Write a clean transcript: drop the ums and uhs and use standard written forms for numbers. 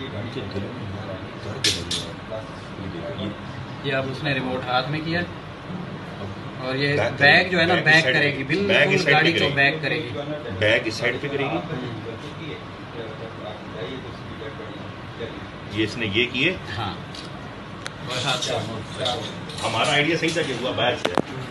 ये अब उसने रिमोट हाथ में किया और ये बैग जो है ना बैक करेगी, बिल्कुल गाड़ी को बैक करेगी, बैग इस साइड पे करेगी। ये इसने ये किए। हाँ हमारा आइडिया सही था कि हुआ बाहर से